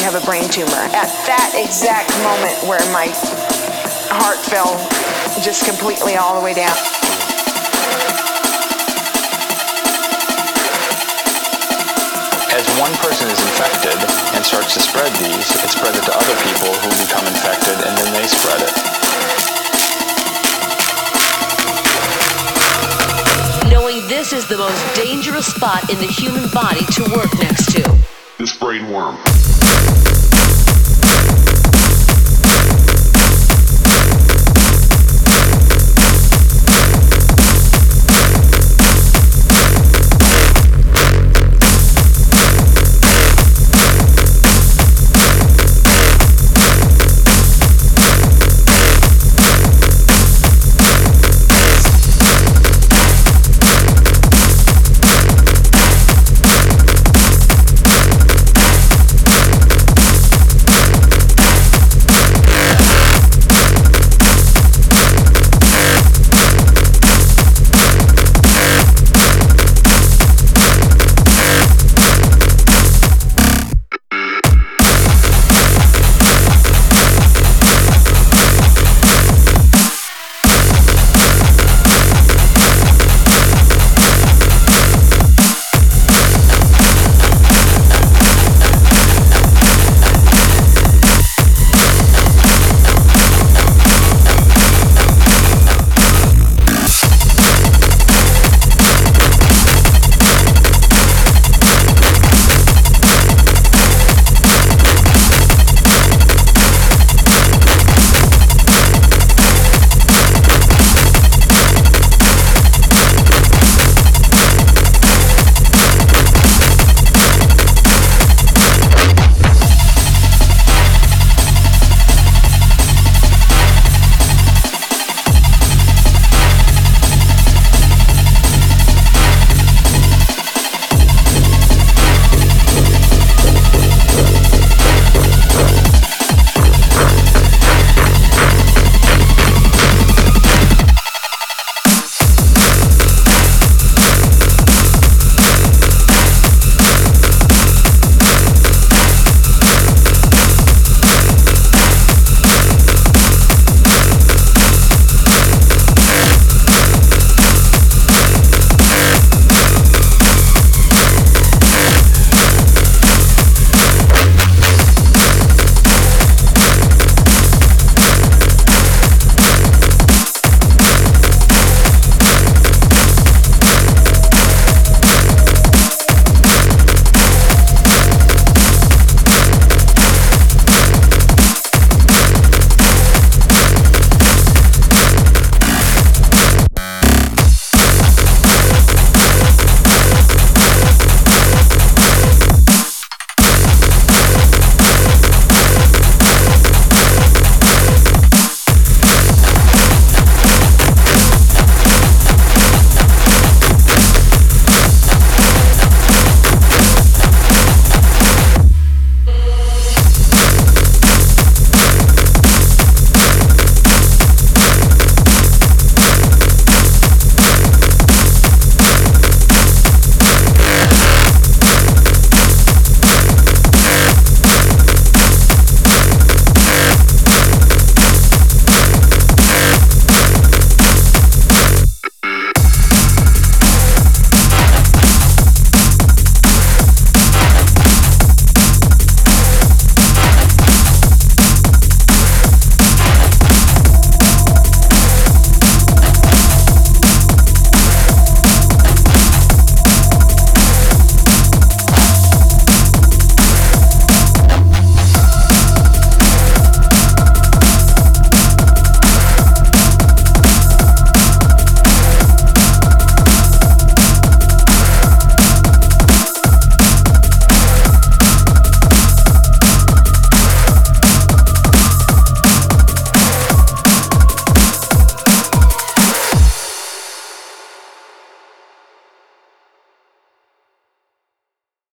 have a brain tumor. At that exact moment where my heart fell just completely all the way down. As one person is infected and starts to spread these, it spreads it to other people who become infected, and then they spread it. Knowing this is the most dangerous spot in the human body to work next to. This brain worm.